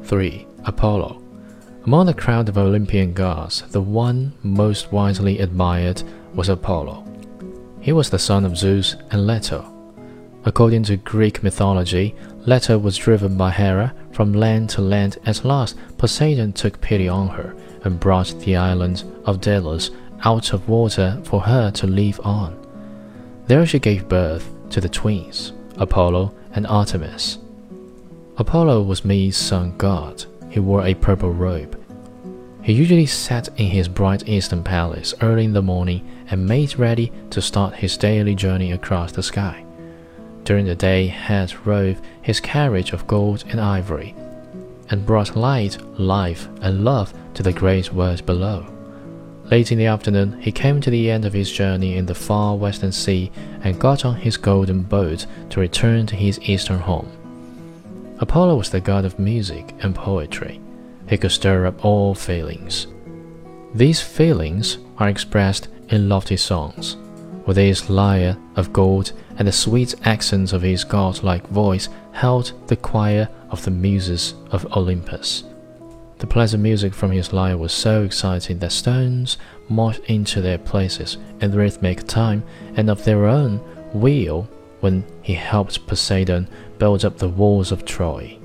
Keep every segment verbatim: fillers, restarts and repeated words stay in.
three. Apollo. Among the crowd of Olympian gods, the one most widely admired was Apollo. He was the son of Zeus and Leto. According to Greek mythology, Leto was driven by Hera from land to land. At last, Poseidon took pity on her and brought the island of Delos out of water for her to live on. There she gave birth to the twins, Apollo and Artemis. Apollo was Mede's sun god. He wore a purple robe. He usually sat in his bright eastern palace early in the morning and made ready to start his daily journey across the sky. During the day, Hera drove his carriage of gold and ivory, and brought light, life, and love to the great world below. Late in the afternoon, he came to the end of his journey in the far western sea and got on his golden boat to return to his eastern home. Apollo was the god of music and poetry. He could stir up all feelings. These feelings are expressed in lofty songs. With his lyre of gold and the sweet accents of his god-like voice held the choir of the muses of Olympus. The pleasant music from his lyre was so exciting that stones marched into their places in rhythmic time and of their own will when he helped Poseidon build up the walls of Troy.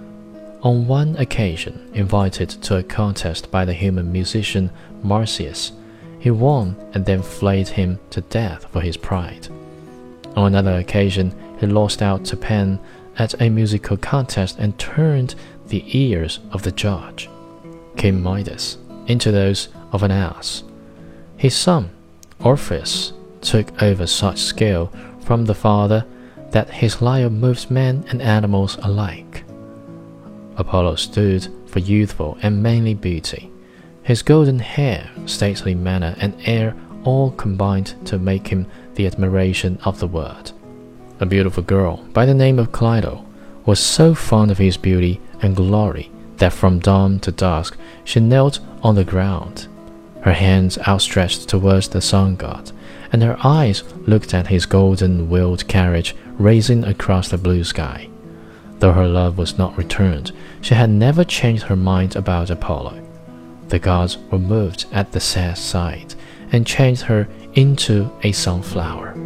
On one occasion, invited to a contest by the human musician Marsyas, he won and then flayed him to death for his pride. On another occasion, he lost out to Pan at a musical contest and turned the ears of the judge, King Midas, into those of an ass. His son, Orpheus, took over such skill from the father that his lyre moved men and animals alike. Apollo stood for youthful and manly beauty. His golden hair, stately manner, and air all combined to make him the admiration of the world. A beautiful girl by the name of Cleito was so fond of his beauty and glory that from dawn to dusk she knelt on the ground, her hands outstretched towards the sun god, and her eyes looked at his golden-wheeled carriage racing across the blue sky. Though her love was not returned, she had never changed her mind about Apollo. The gods were moved at the sad sight and changed her into a sunflower.